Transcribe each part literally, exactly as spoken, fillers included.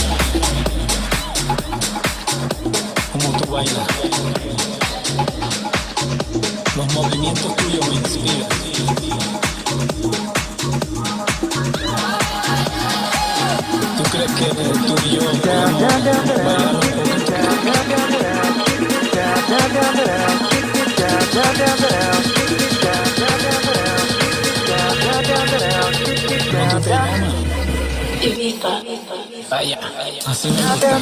Como tú bailas, los movimientos tuyos me inspiran. ¿Tú crees que tú y yo podemos bailar un poquito? ¿Cómo tú te llamas? Ibiza. Vaya, así me gusta.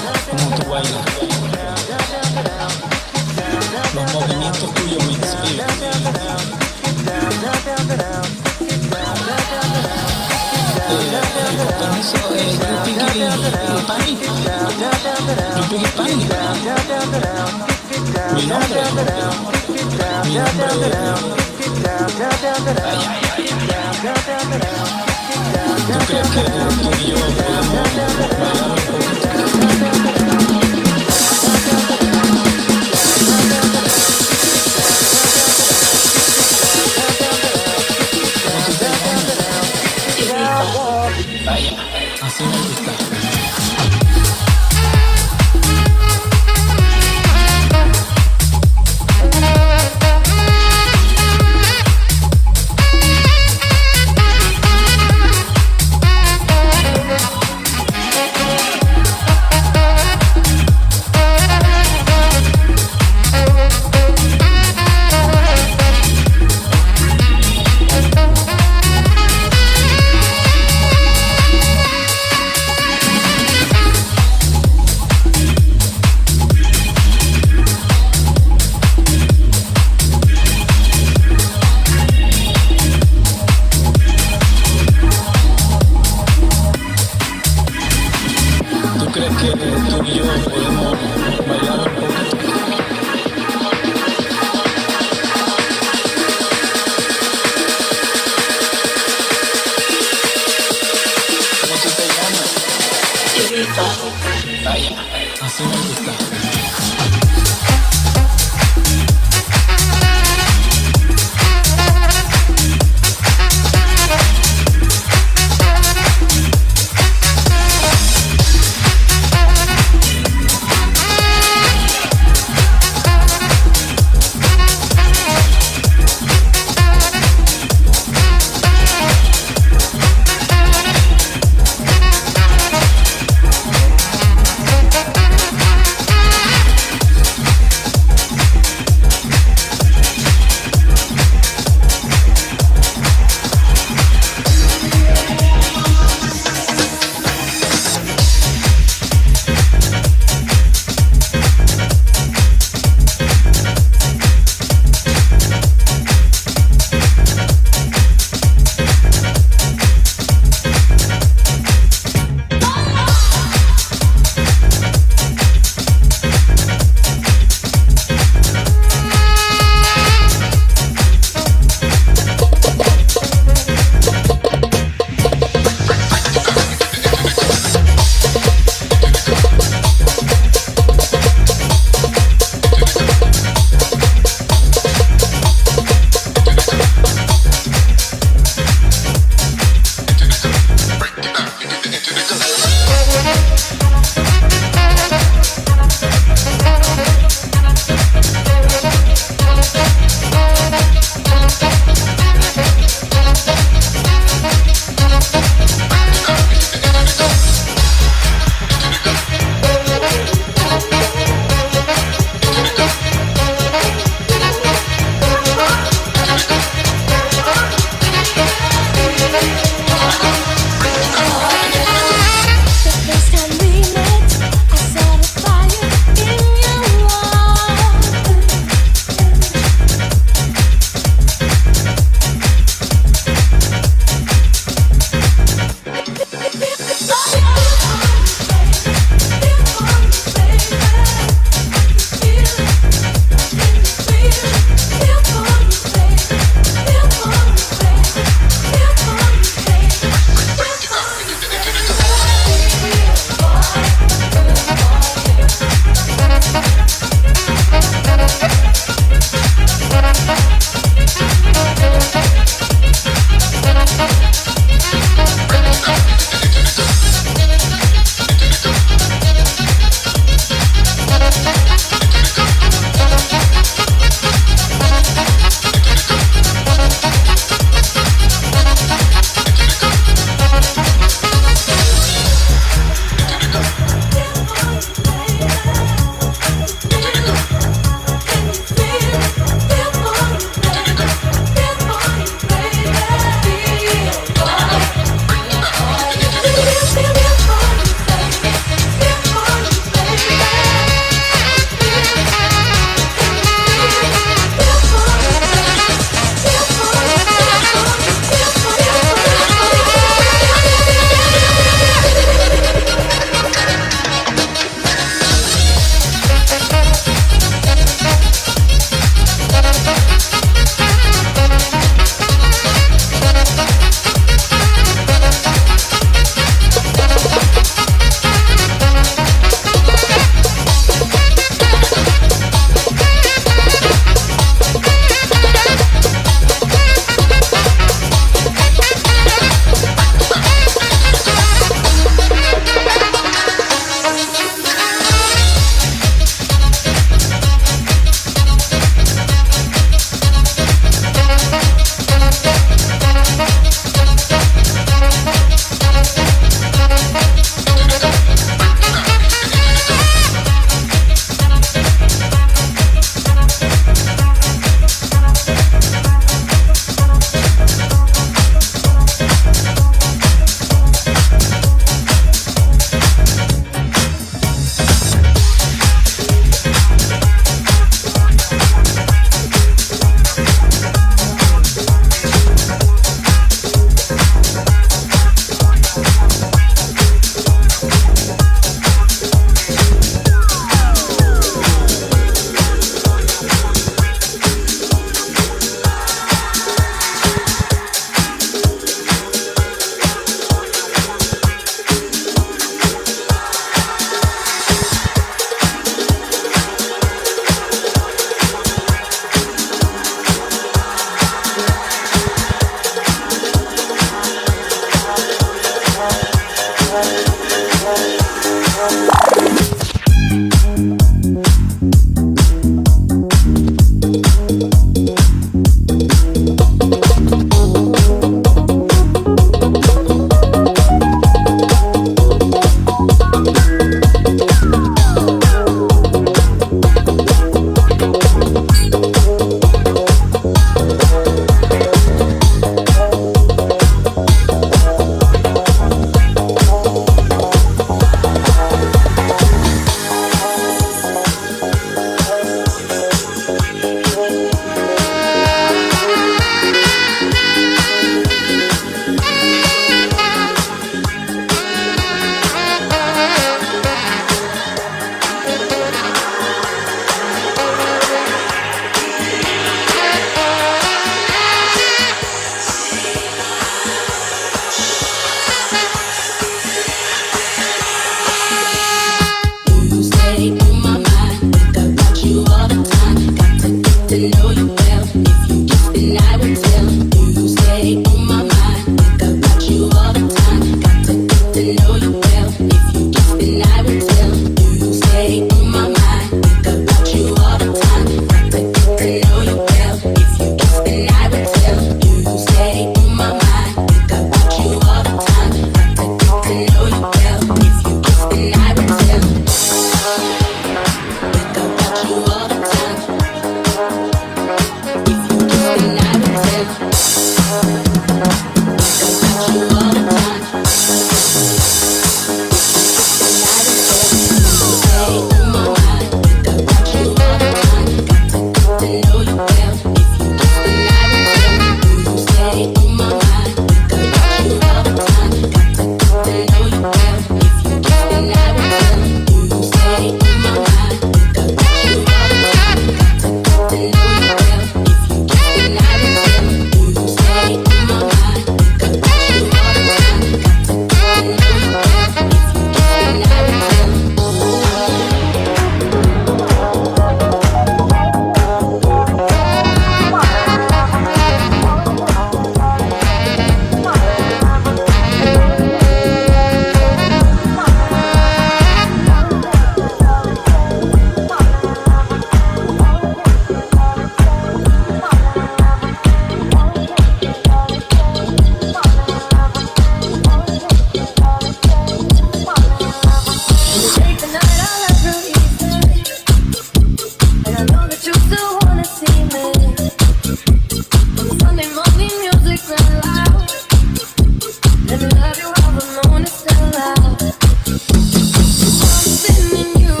Sunday morning music real loud. Let me love you while the moon is still out. Something in you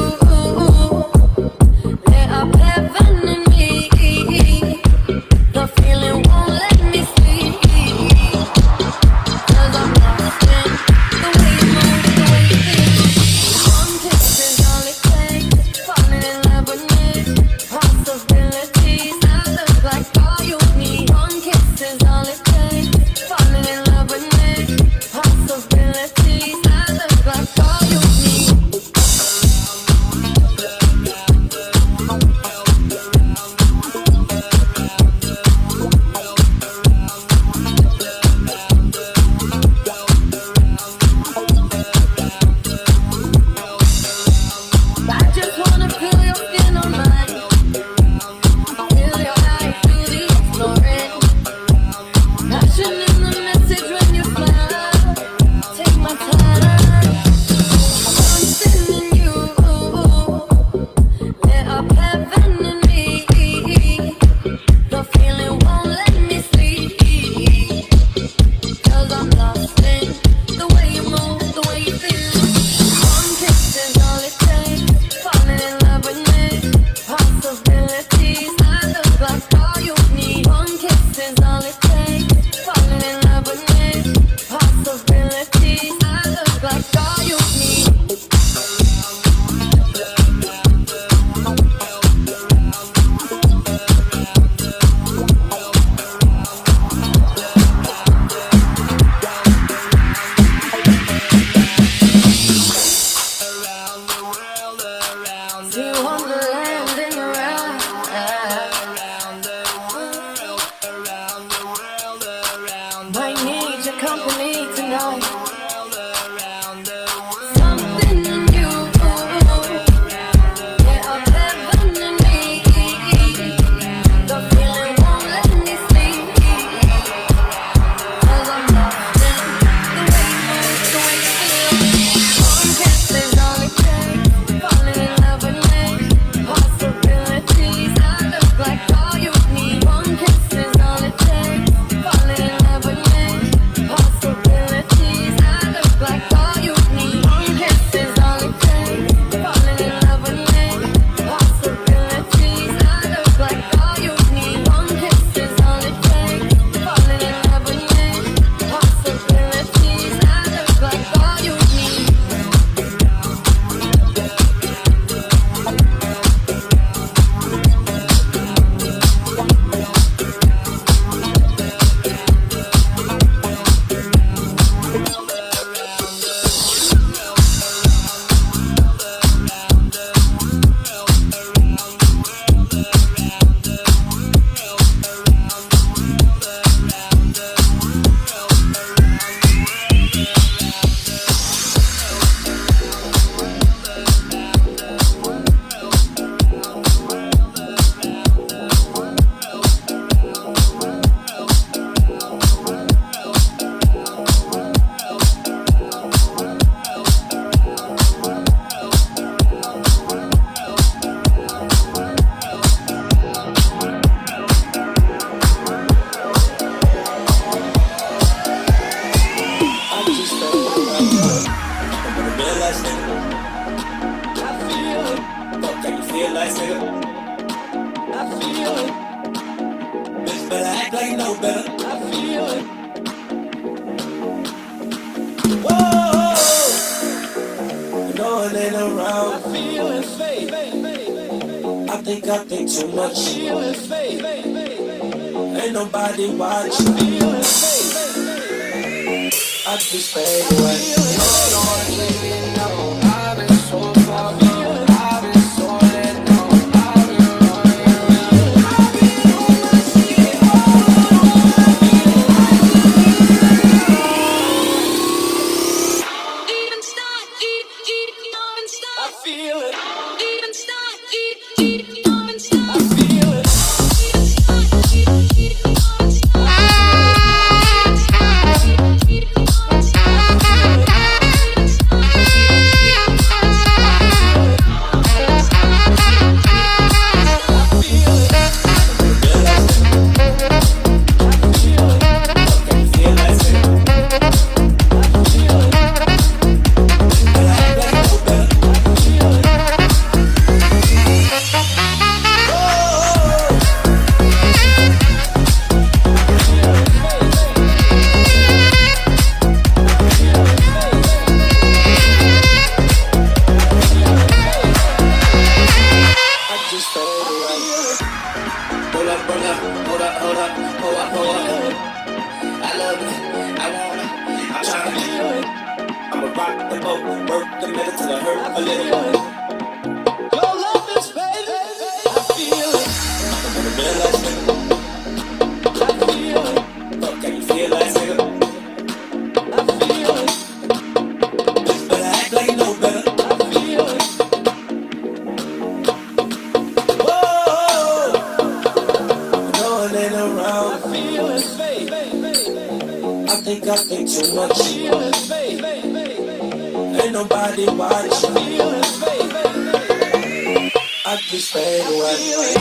lit up heaven in me. The feeling won't let me sleep. 'Cause I'm lost in the way you move, the way you feel. One kiss is all it takes. Falling in love with me. Possibilities that look like all you need. One kiss is all it takes. Falling in love with me. Possibilities that look like all you need. I just wanna feel your skin on mine. Feel your eyes do the exploring. Passion in the message when you smile. Take my time. Something in you lit up heaven in me. The feeling won't let me sleep. 'Cause I'm lost in the way you move, the way you feel. One kiss is all it takes. Falling in love with me. Possibilities that look like all you need. One kiss is all it takes. Falling in love with me. Possibilities that look like all you need. See wonderland in your eyes. Might need your company tonight. Something in you lit up heaven in me. The feeling won't let me sleep. 'Cause I'm lost in the way you move, the way you feel. One kiss is all it takes. Falling in love with me. Possibilities that look like all you need. One kiss is all it takes. Falling in love with me. Possibilities that look like all you need. One kiss is all it takes. Falling in love with me. Possibilities that look like all you need. One kiss is all it takes. Falling in love with me. Possibilities that look like all you need. I just felt like I'm gonna realize that I feel it. Fuck, can you feel like it? I feel it. Bitch, better act like you know better. I feel it. Whoa, no one ain't around. I feel it, fake. I think I think too much. I feel it, fake. Ain't nobody watching. I feel it, fake. I just fade away. Hold on, baby, no. I've been so far gone. I've been so let go. I've been running. I've been on my shit. Hold on, I've been even start, eat, eat, even start. I feel it. Even start, eat, eat, even start. I feel it. Even start, eat, eat, even start. I feel it. pour up, pour up. I love it, I want it, I'm tryna. I'ma rock the boat, work the metal till I hurt a little. Your love is fading, I feel it. I'm gonna realize it, I feel it. Fuck, can you feel that, nigga? I feel it. But I act like you know better. I feel it. Whoa, no one ain't around. I feel it, fade. I think I think too much. I feel it, fade. Ain't nobody watching. I feel it, fade. I just fade away. I feel it.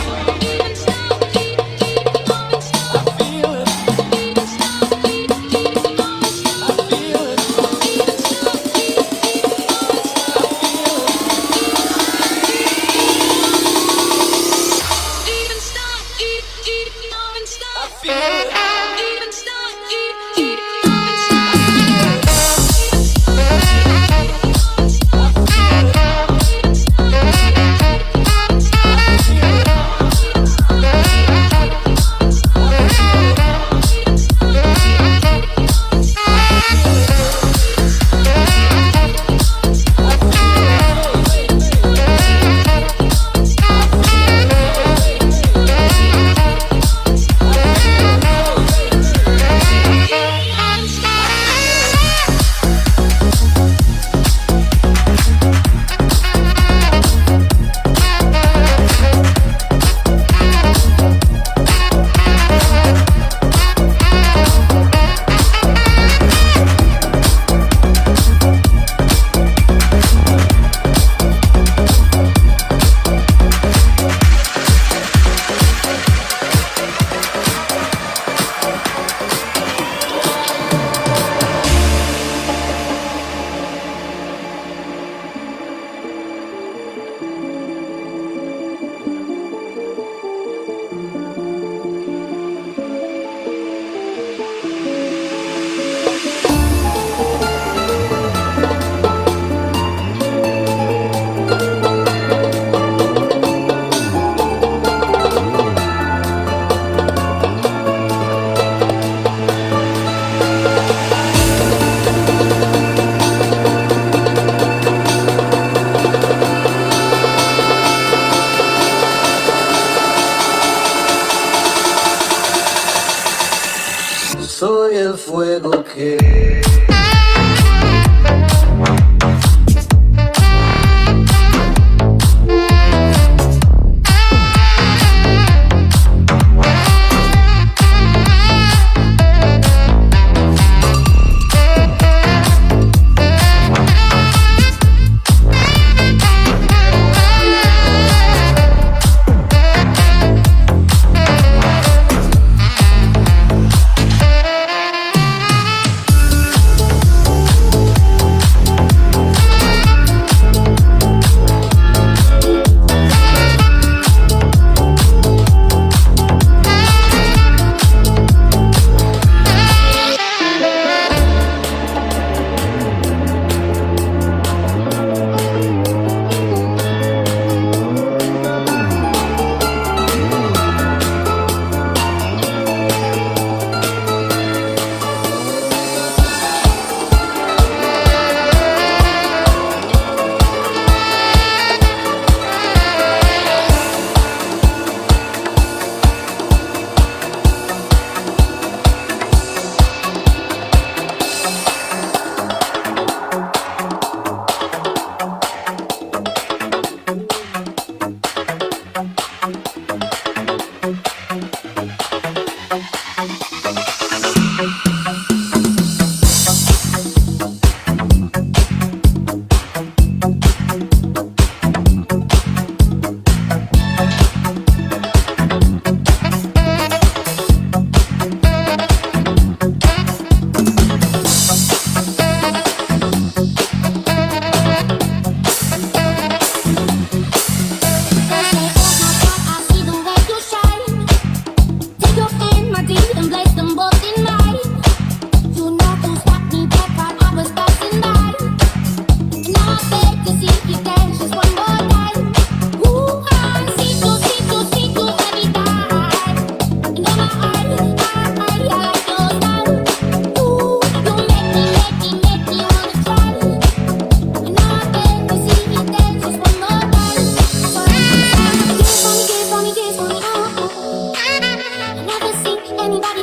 Soy el fuego que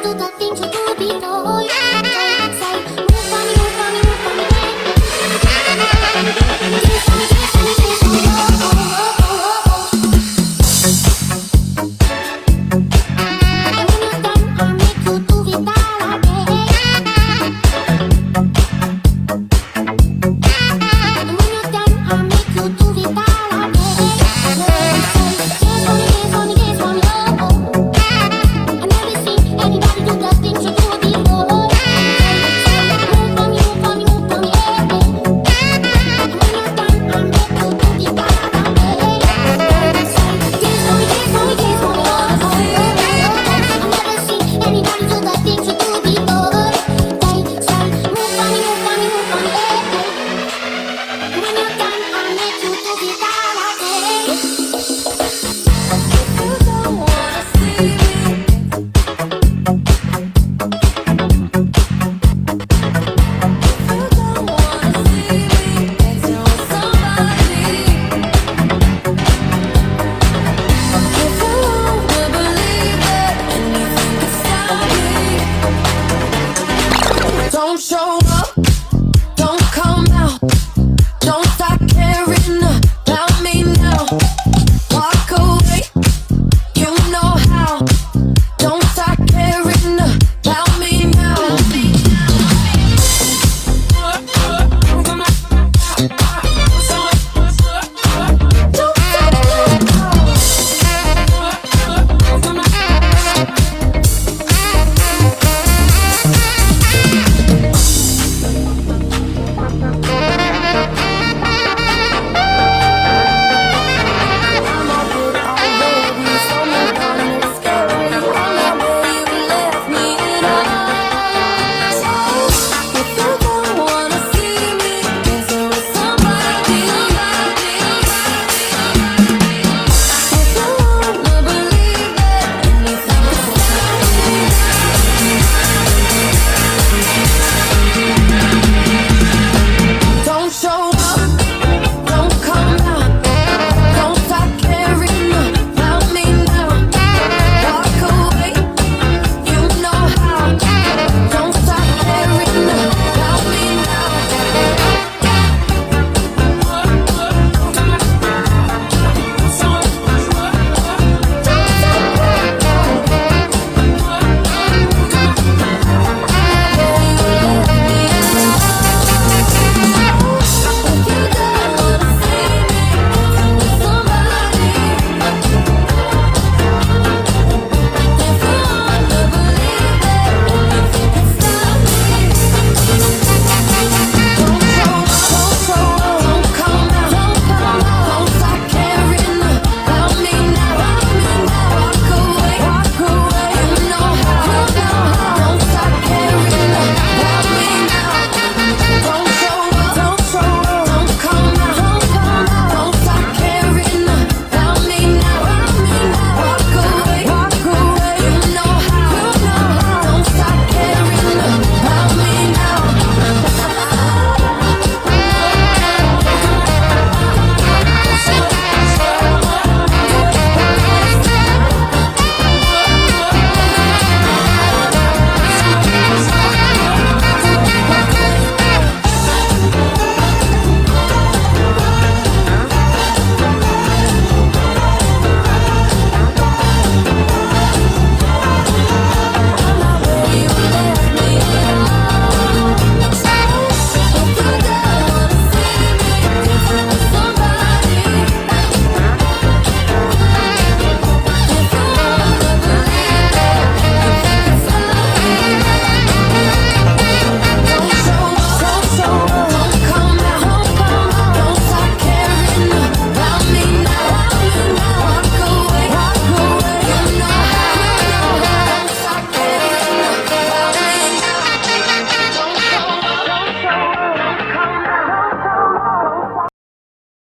Don't show